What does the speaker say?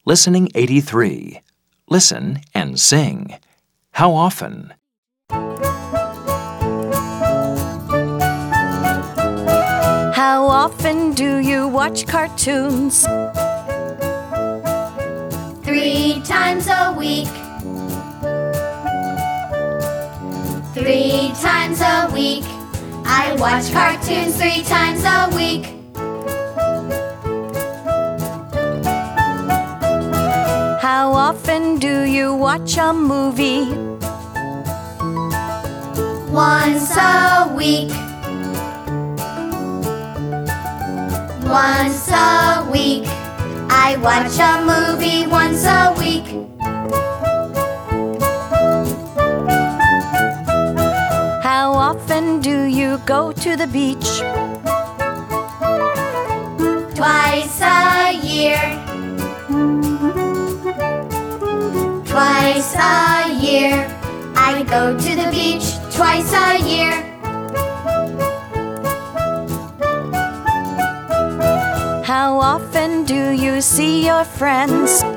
Listening 83. Listen and sing. How often? How often do you watch cartoons? 3 times a week. 3 times a week. I watch cartoons 3 times a week. How often do you watch a movie? Once a week. Once a week. I watch a movie once a week. How often do you go to the beach? Twice a year. Twice a year. I go to the beach twice a year. How often do you see your friends?